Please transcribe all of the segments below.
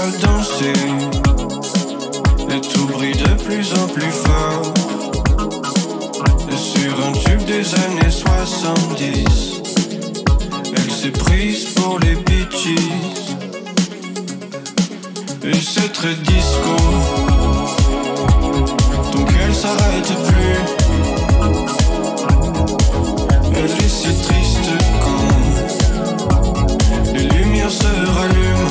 à danser et tout brille de plus en plus fort. Et sur un tube des années 70, elle s'est prise pour les bitches. Et c'est très disco, donc elle s'arrête plus. Elle est si triste quand les lumières se rallument.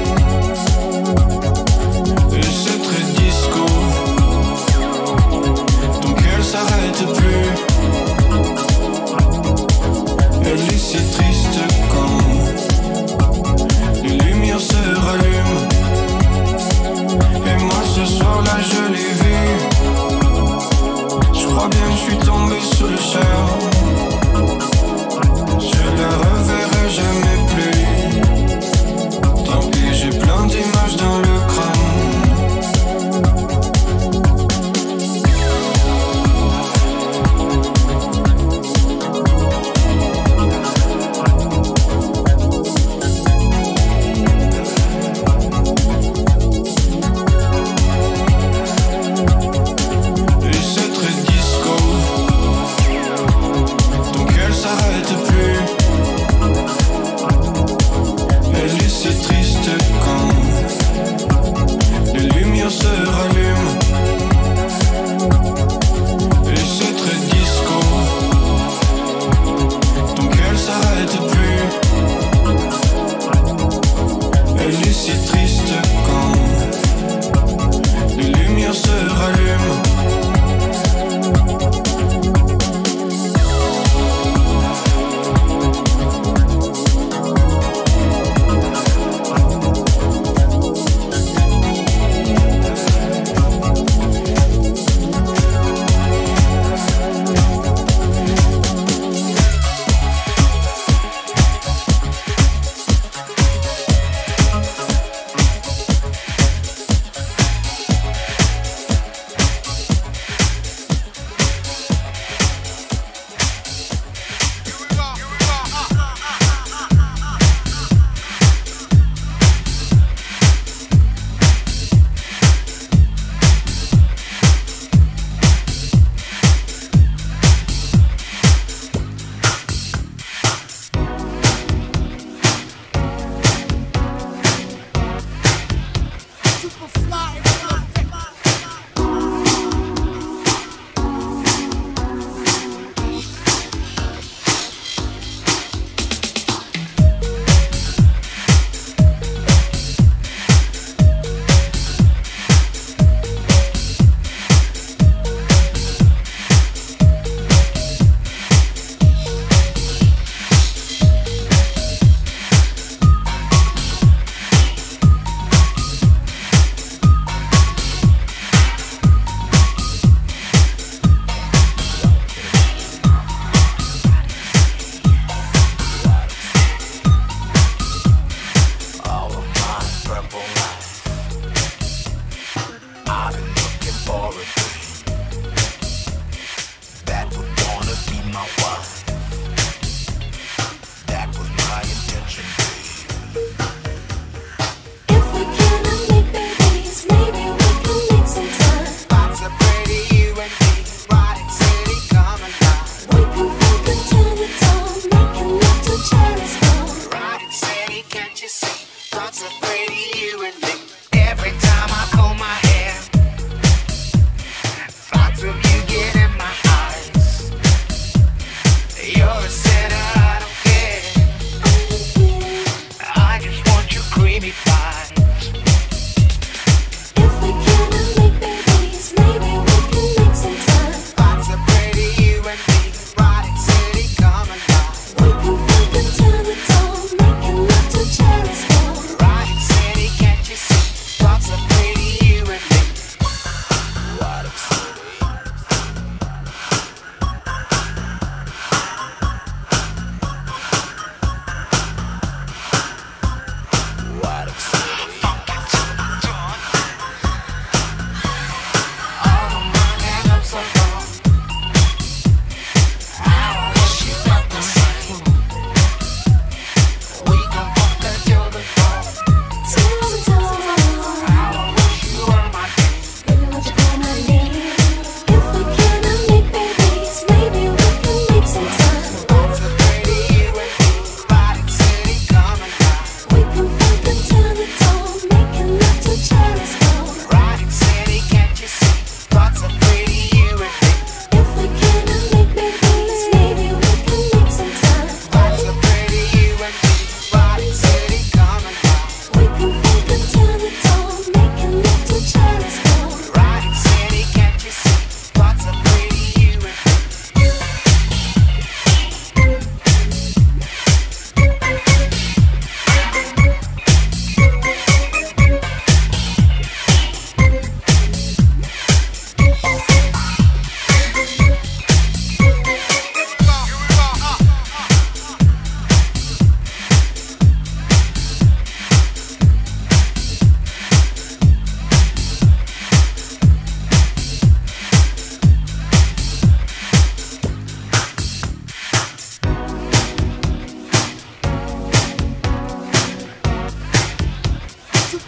Et c'est très disco, donc elle s'arrête plus. Elle est si triste quand les lumières se rallument. Et moi ce soir-là je l'ai vu. Je crois bien que je suis tombé sous le charme. Je la reverrai jamais plus. Tant pis, j'ai plein d'images dans le crâne.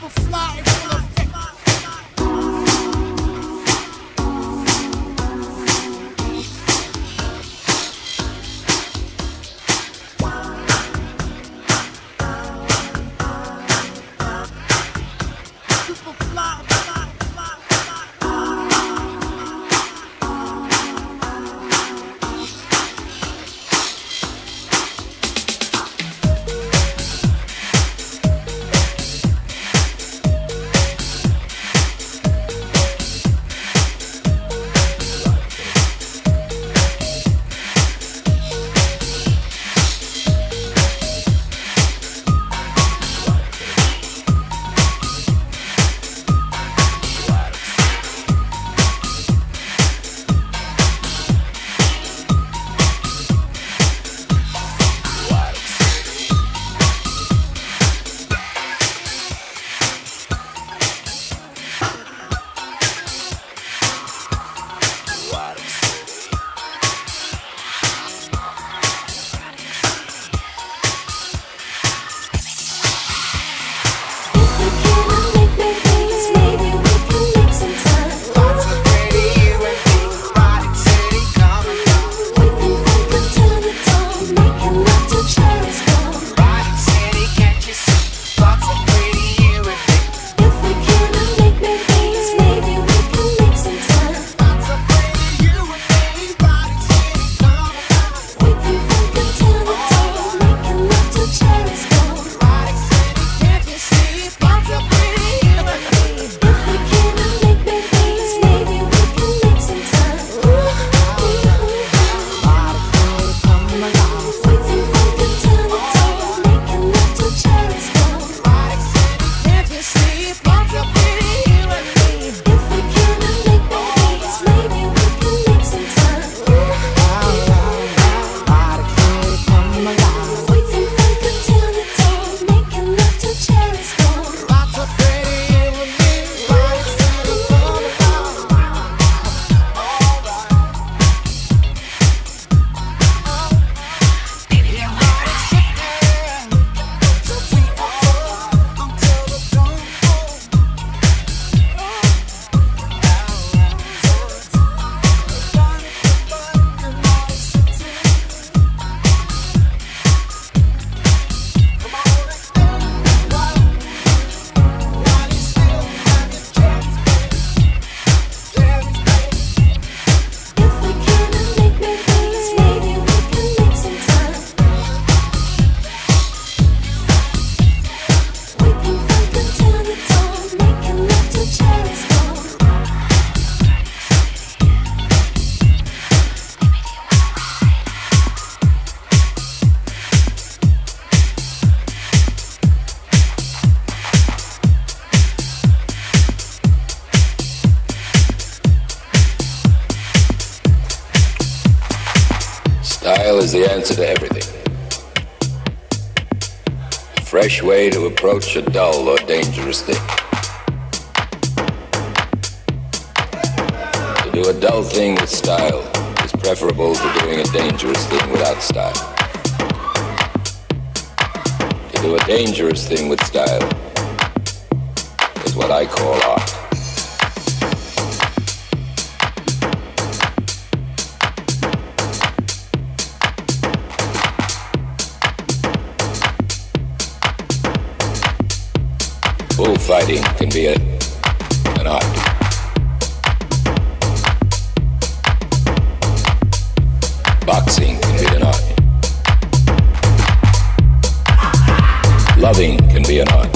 Style is the answer to everything. A fresh way to approach a dull or dangerous thing. To do a dull thing with style is preferable to doing a dangerous thing without style. To do a dangerous thing with style is what I call art. Bullfighting can be an art. Boxing can be an art. Loving can be an art.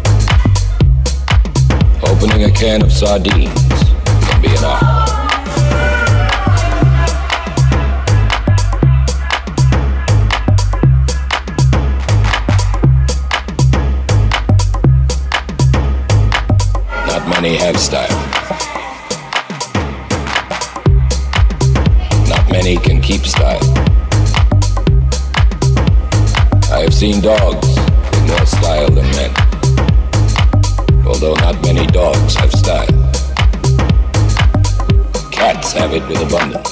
Opening a can of sardines can be an art. Many have style. Not many can keep style. I have seen dogs with more style than men, although not many dogs have style. Cats have it with abundance.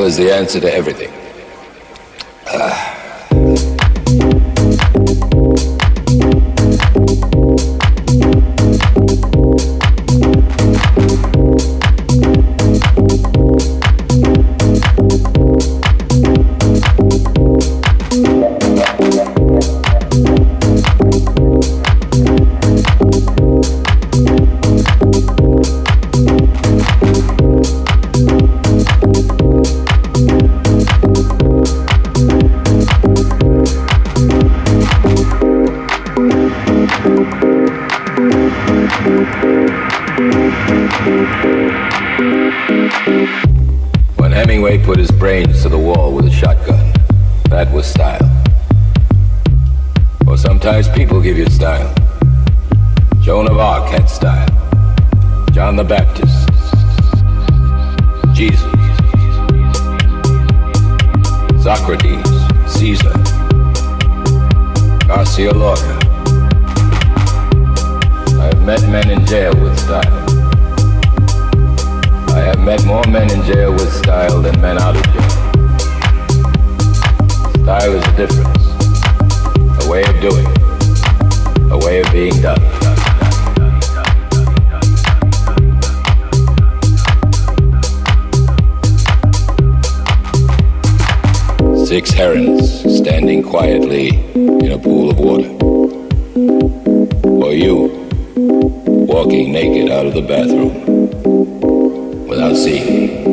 Style is the answer to everything. When Hemingway put his brains to the wall with a shotgun, that was style. Or sometimes people give you style. Joan of Arc had style. John the Baptist. Jesus. Socrates. Caesar. Garcia Lorca. I've met men in jail with style. I have met more men in jail with style than men out of jail. Style is a difference, a way of doing, a way of being done. Six herons standing quietly in a pool of water. Or you, walking naked out of the bathroom without seeing me.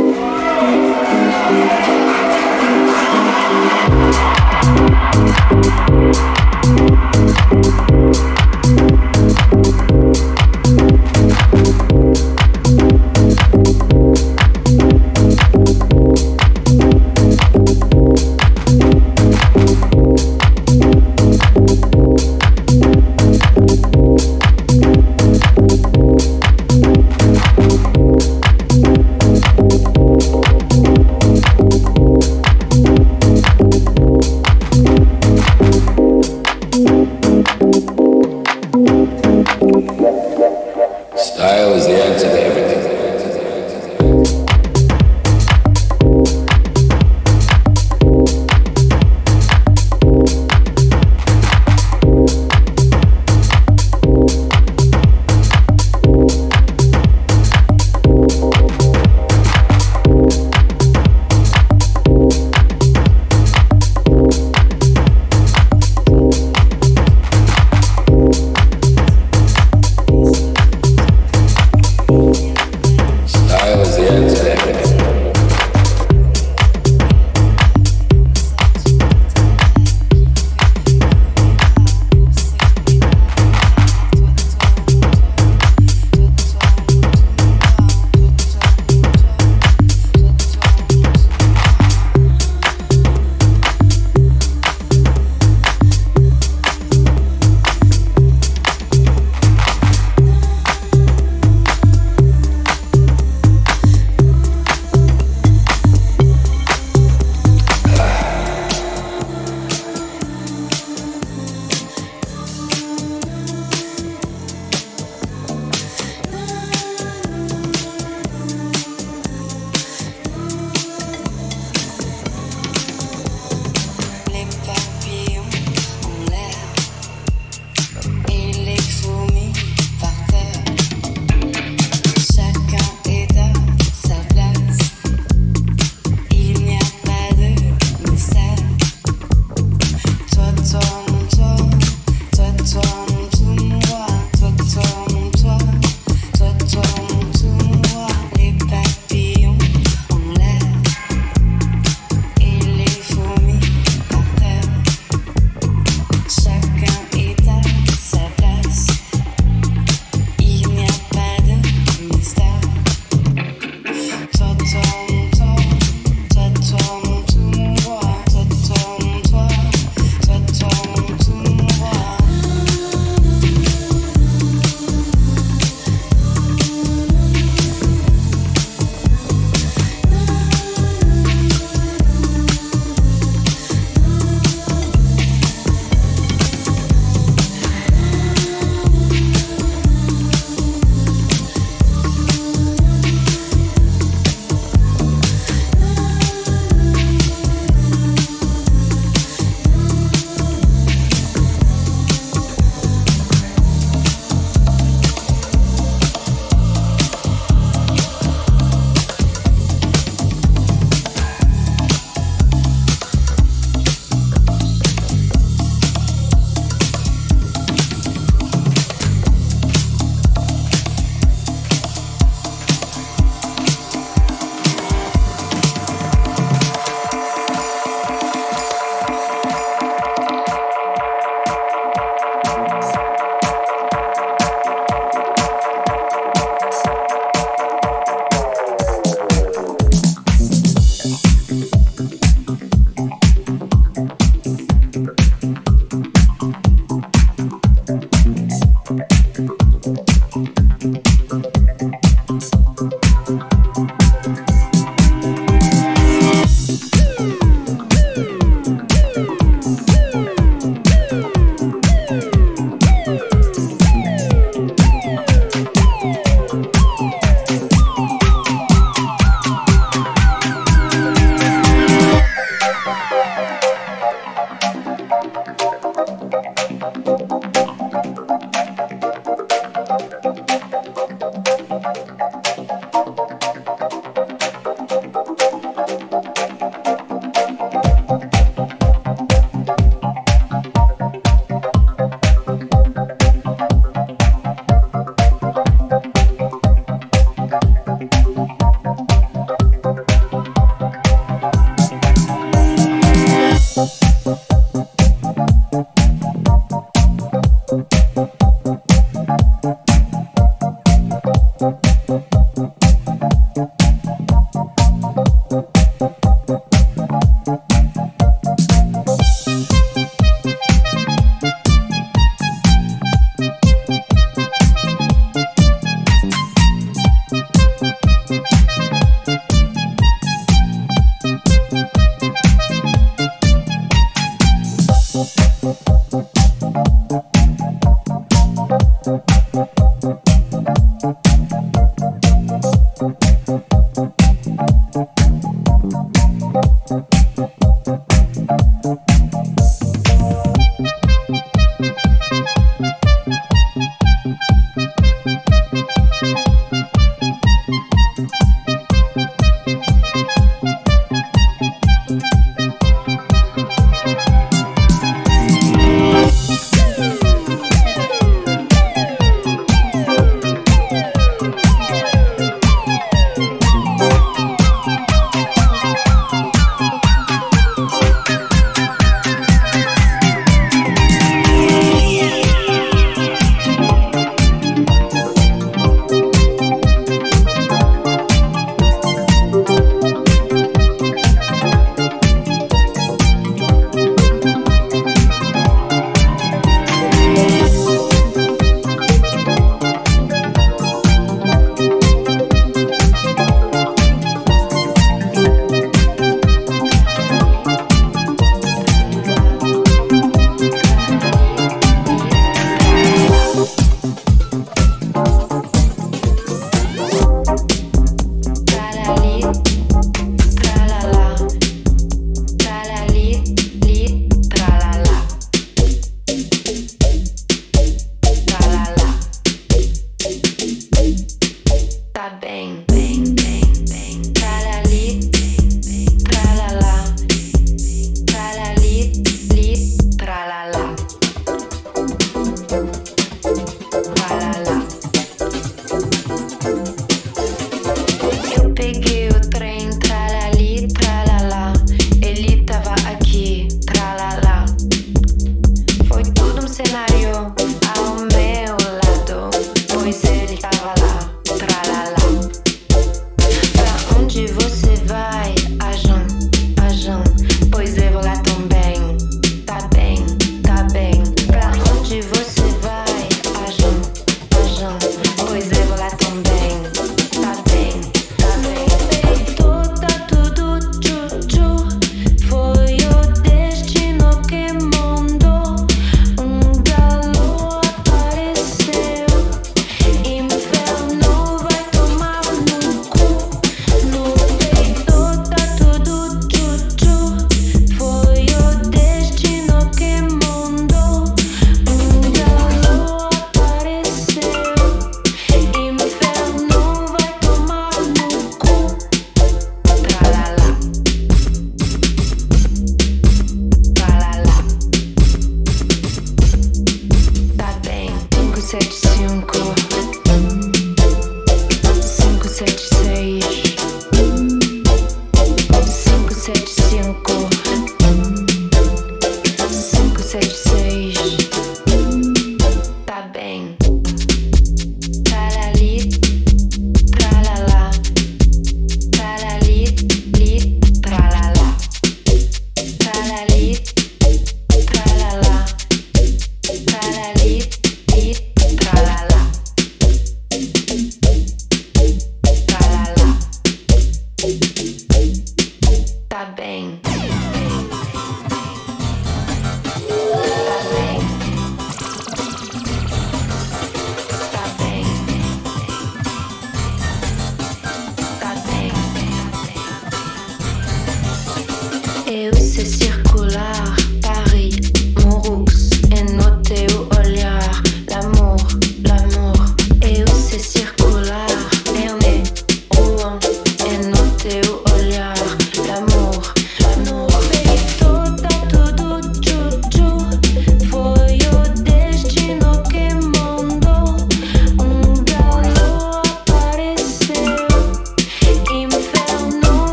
Style is the answer to everything.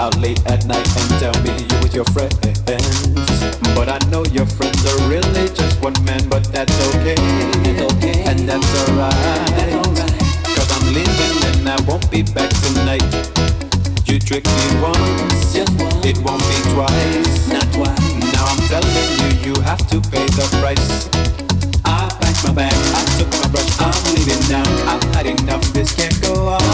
out late at night and tell me you with your friends. But I know your friends are really just one man, but that's okay. And that's alright. Cause I'm leaving and I won't be back tonight. You tricked me once, it won't be twice. Not twice. Now I'm telling you, you have to pay the price. I packed my bag, I took my brush, I'm leaving now. I've had enough, this can't go on.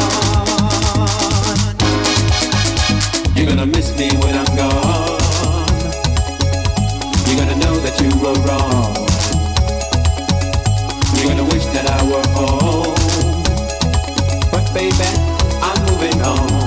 You're gonna miss me when I'm gone. You're gonna know that you were wrong. You're gonna wish that I were home. But baby, I'm moving on.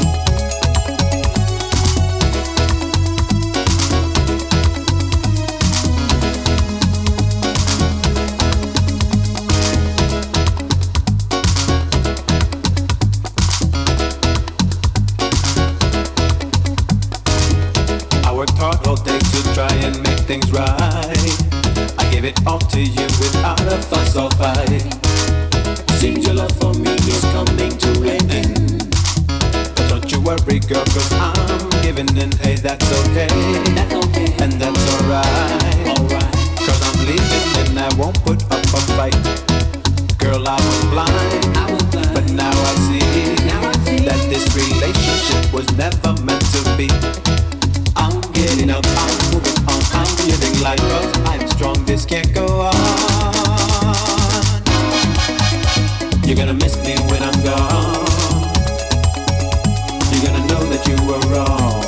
Things right. I gave it all to you without a fuss or fight. Seems your love for me is coming to an end. But don't you worry, girl, cause I'm giving in. Hey, that's okay. And that's alright. Cause I'm leaving and I won't put up a fight. Girl, I was blind. But now I see that this relationship was never meant to be. I'm getting up, I'm moving on, I'm living life up. I'm strong, this can't go on. You're gonna miss me when I'm gone. You're gonna know that you were wrong.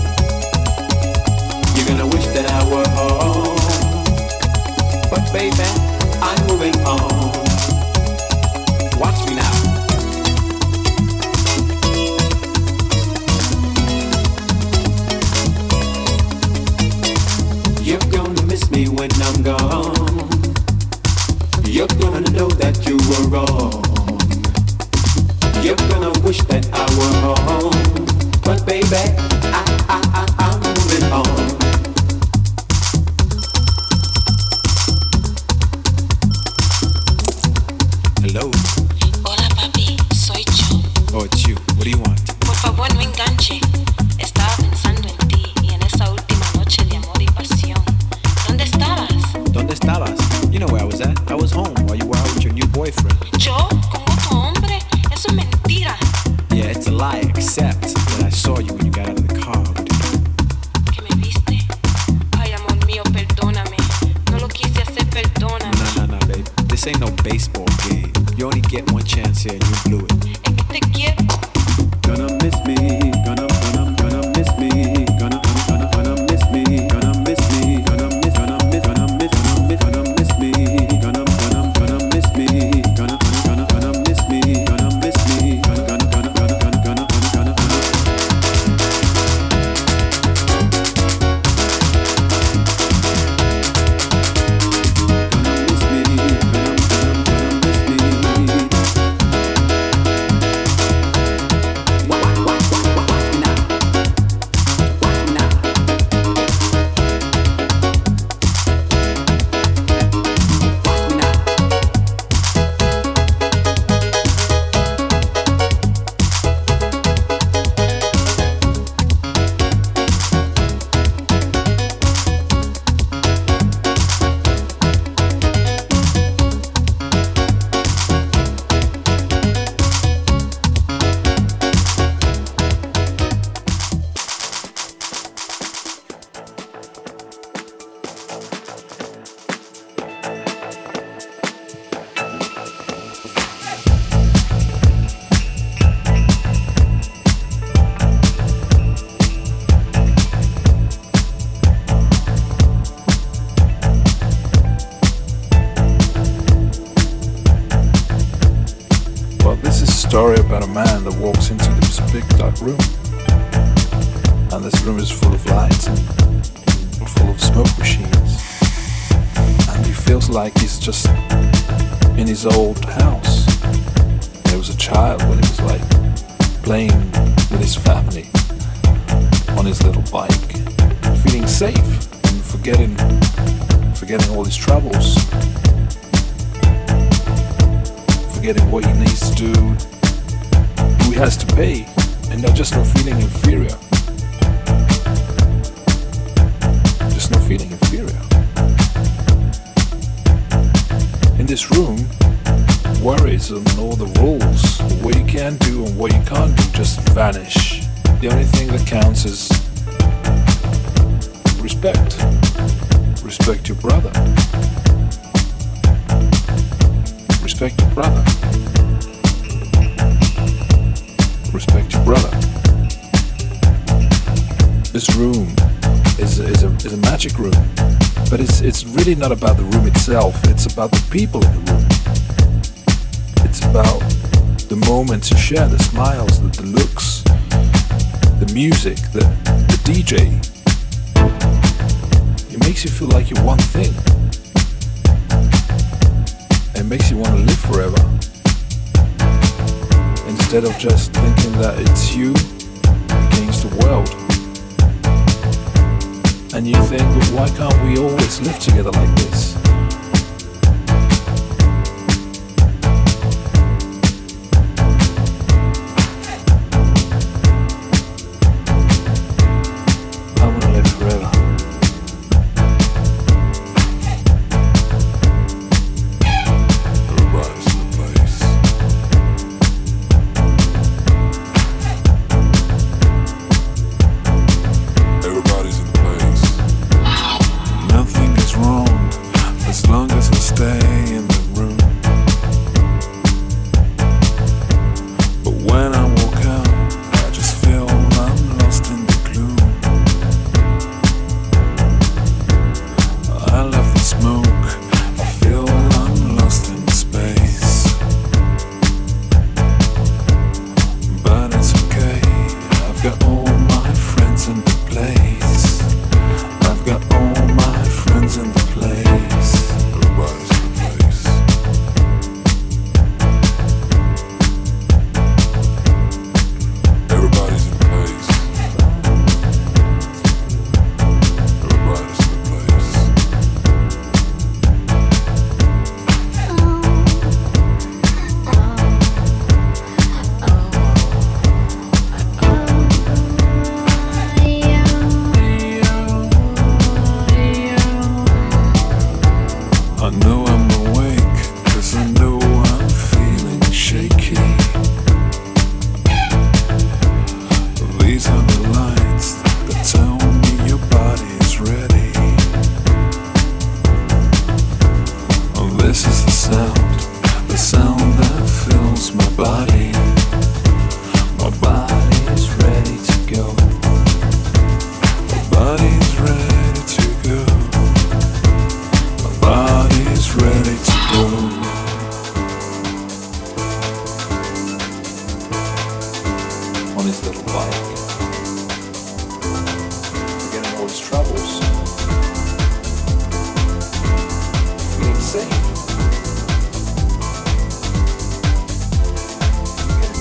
You're gonna wish that I were home. But baby, I'm moving on. Watch me now. Me when I'm gone, you're gonna know that you were wrong. You're gonna wish that I were home. But baby, I'm moving on. Hello. Hola papi, soy yo. Oh, it's you. What do you want? Por favor, no enganche. Estaba pensando en ti y en esa última noche de amor y pasión. ¿Dónde estabas? ¿Dónde estabas? You know where I was at. I was home while you were out with your new boyfriend. ¿Yo? ¿Con otro hombre? Eso es mentira. Yeah, it's a lie, except that I saw you when you got out of the car. ¿Que me viste? Ay, amor mío, perdóname. No lo quise hacer, perdóname. No, babe. This ain't no baseball game. You only get one chance here and you blew it. Es que te quiero. Gonna miss me, gonna miss me, gonna miss me, gonna miss me, gonna miss me, gonna miss me, gonna miss me, gonna miss me, gonna miss me, story about a man that walks into this big dark room, and this room is full of lights and full of smoke machines, and he feels like he's just in his old house. There was a child when he was like playing with his family on his little bike, feeling safe and forgetting all his troubles, forgetting what he needs to do, who he has to pay, and just not feeling inferior. feeling inferior. In this room, worries and all the rules, what you can do and what you can't do, just vanish. The only thing that counts is respect. Respect your brother. Respect your brother. Respect your brother. This room is a magic room, but it's really not about the room itself. It's about the people in the room. It's about the moments you share, the smiles, the looks, the music, the DJ. It makes you feel like you're one thing. It makes you want to live forever. Instead of just thinking that it's you against the world. And you think, well, why can't we always live together like this? I want to live forever. Everybody's in the place. Everybody's in the place. Nothing is wrong as long as I stay in the room. But when I walk out, I just feel I'm lost in the gloom. I love the smoke, I feel I'm lost in space. But it's okay, I've got all my friends in the place. I've got all my friends in the place. Everybody's in the place. Everybody's in the place. Everybody's in the place. I know I'm awake, 'cause I know I'm feeling shaky. These are the lights that tell me your body is ready. Oh, this is the sound that fills my body. My body is ready to go. My body is ready to go. My body is ready to go. On his little bike, forgetting all his troubles, feeling safe, forgetting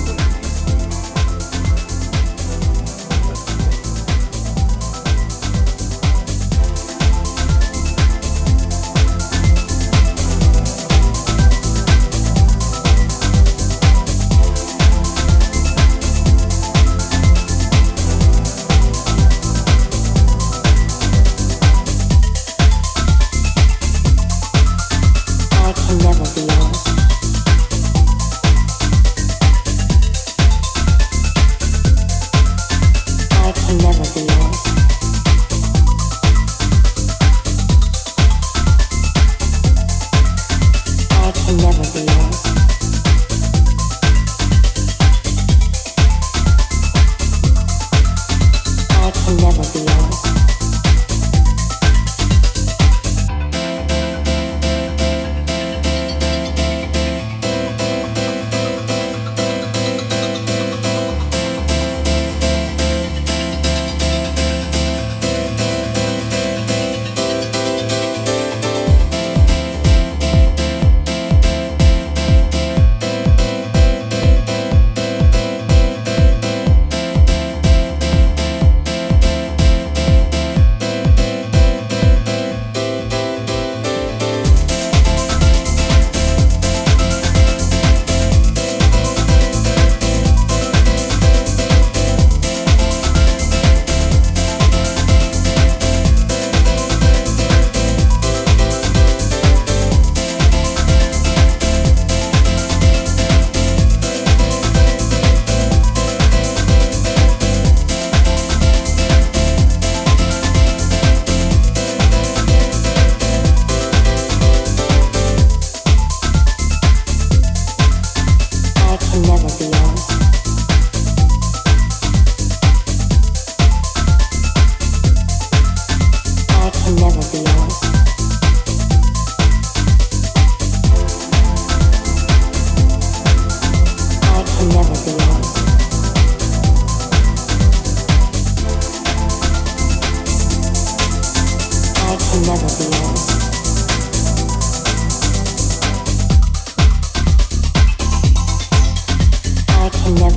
can never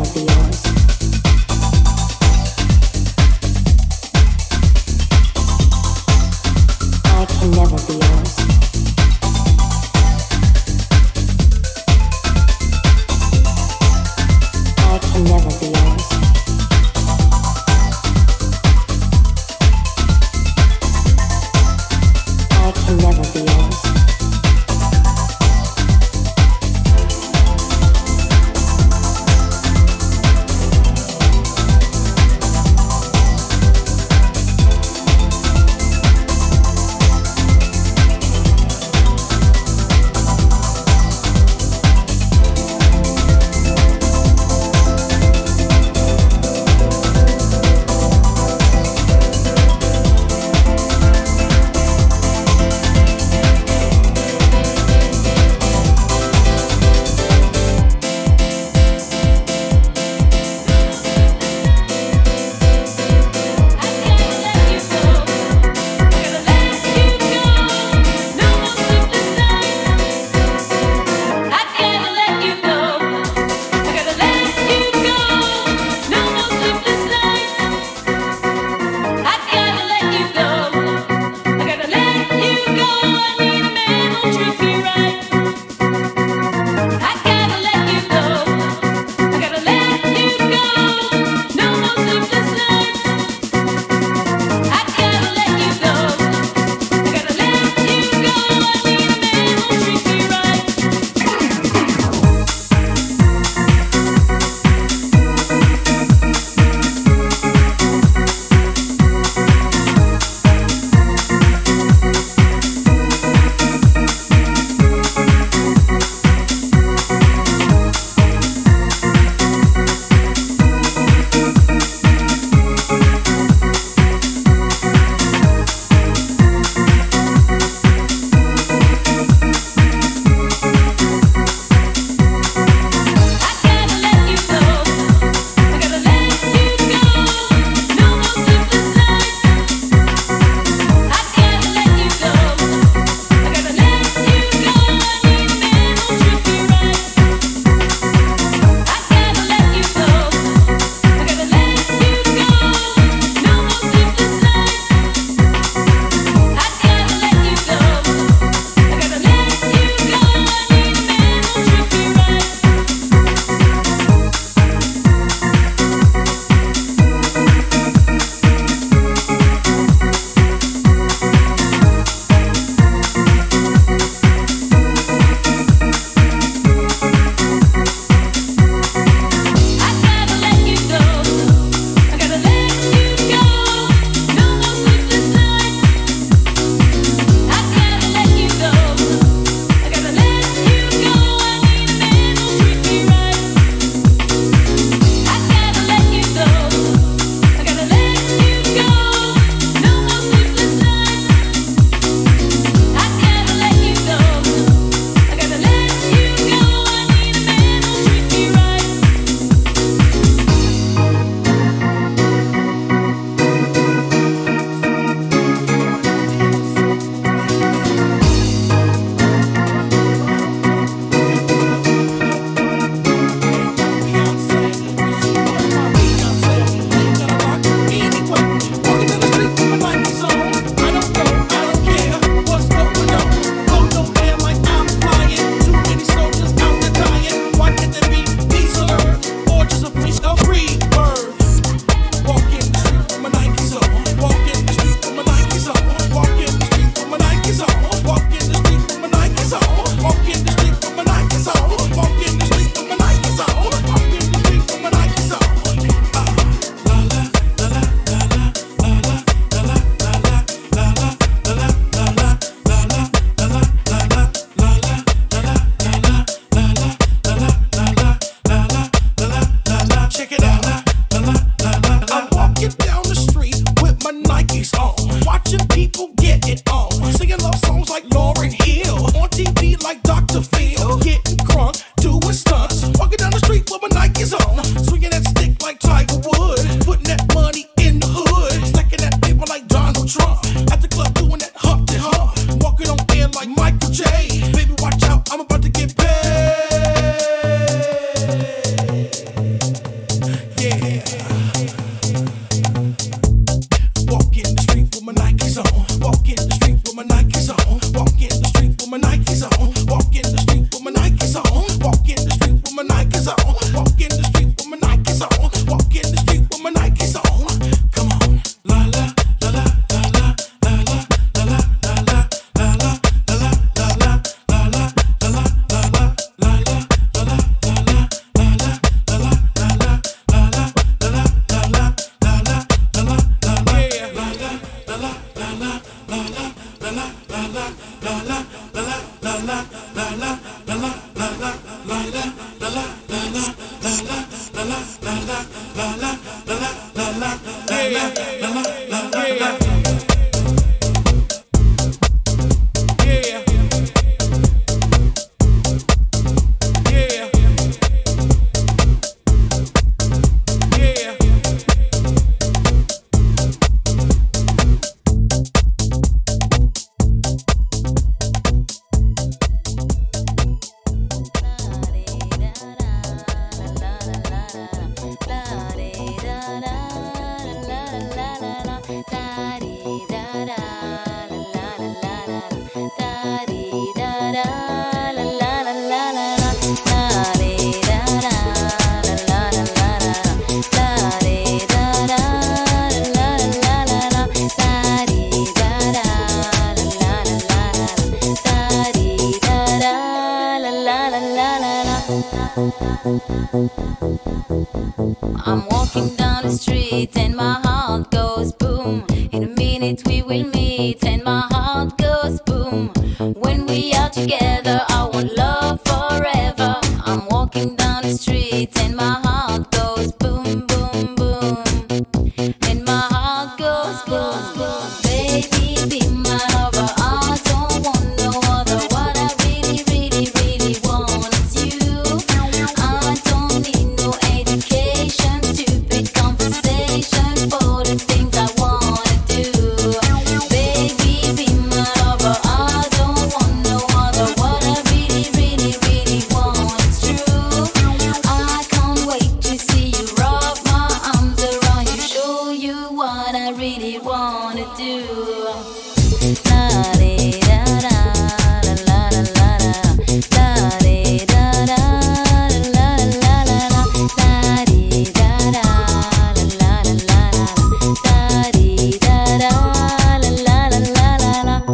I'm walking down the street and my heart goes boom. In a minute we will meet and my heart goes boom. When we are together I want love forever. I'm walking down the street and my heart goes boom, boom, boom. And my heart goes boom, boom. Baby, be my lover. I don't want no other. What I really, really, really want is you. I don't need no education, stupid conversation for the things I wanna do. Baby, be my lover. I don't want no other. What I really, really, really want is true. I can't wait to see you, wrap my arms around you, show you what I really wanna do. La de da da, la la la la la, la de da da, la la la la la, la de da da, la la la la la, la de da da, la la la la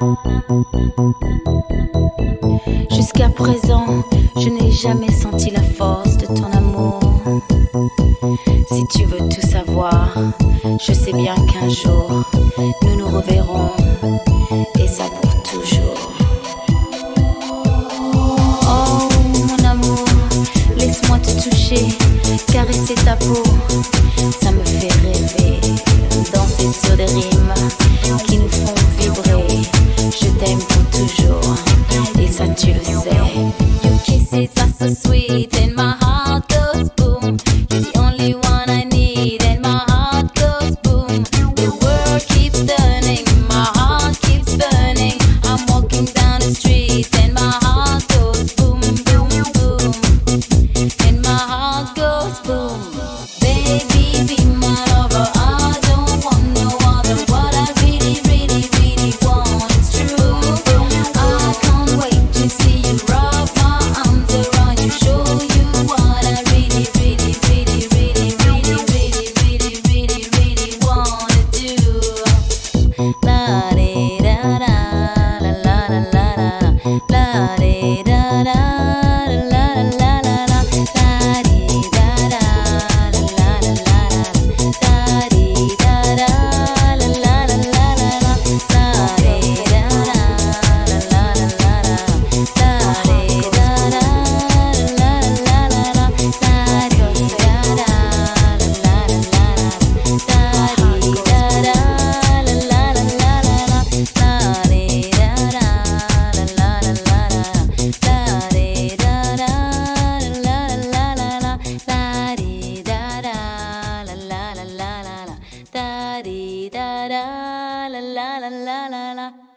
la. Jusqu'à présent, je n'ai jamais senti la force de ton amour. Si tu veux tout savoir, je sais bien qu'un jour, nous nous reverrons, et ça pour toujours. Oh mon amour, laisse-moi te toucher, caresser ta peau, ça me fait rêver, danser sur des rimes qui nous font vibrer. Je t'aime pour toujours, et ça tu le sais. Your kisses are so sweet and my heart goes boom. You're the only one I need and my heart goes boom. The world keeps turning, my heart keeps burning. I'm walking down the street and my heart goes boom, boom, boom. And my heart goes boom. Baby, be my lover. I don't want no other. What I really, really, really want is true. I can't wait to see you, wrap my arms around you, show you what I really, really, really, really, really, really, really, really, really wanna do. La de da da, la la la la la, la de da da, la la la la la, la de da da, la la la la la, la de da da, la la la la la la, la de da da, la la la la la, la de da da, la la la la la, la de da da, la la la la la la la la.